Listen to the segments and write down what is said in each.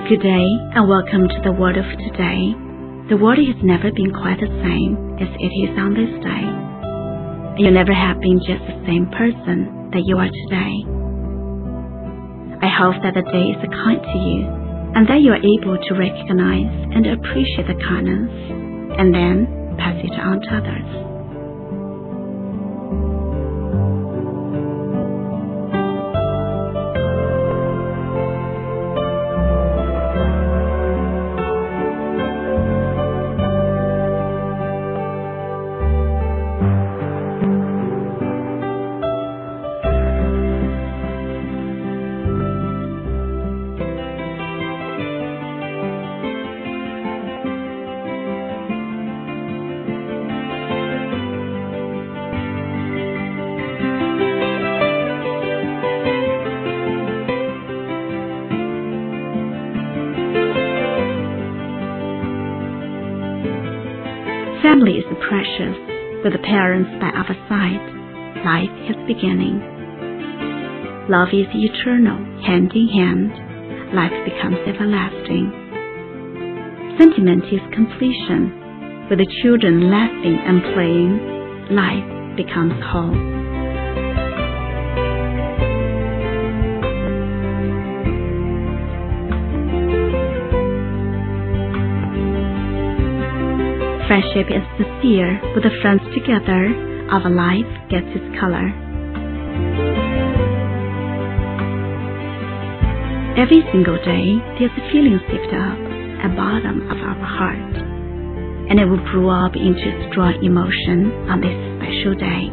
Good day and welcome to the world of today. The world has never been quite the same as it is on this day. You never have been just the same person that you are today. I hope that the day is kind to you and that you are able to recognize and appreciate the kindness and then pass it on to others. Family is precious. With the parents by our side, life has beginning. Love is eternal, hand in hand. Life becomes everlasting. Sentiment is completion. With the children laughing and playing, life becomes whole. Friendship is sincere. With the friends together, our life gets its color. Every single day, there's a feeling saved up at the bottom of our heart, and it will grow up into strong emotion on this special day.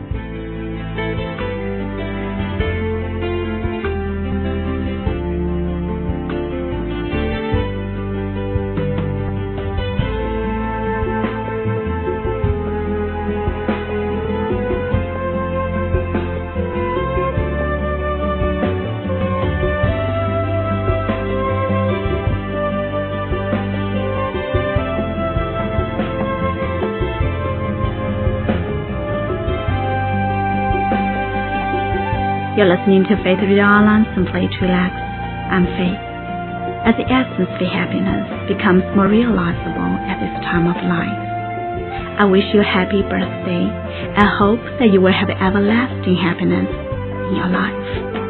You're listening to Faith Radio Online, simply to relax. I'm Faith. As the essence of happiness becomes more realizable at this time of life, I wish you a happy birthday and hope that you will have everlasting happiness in your life.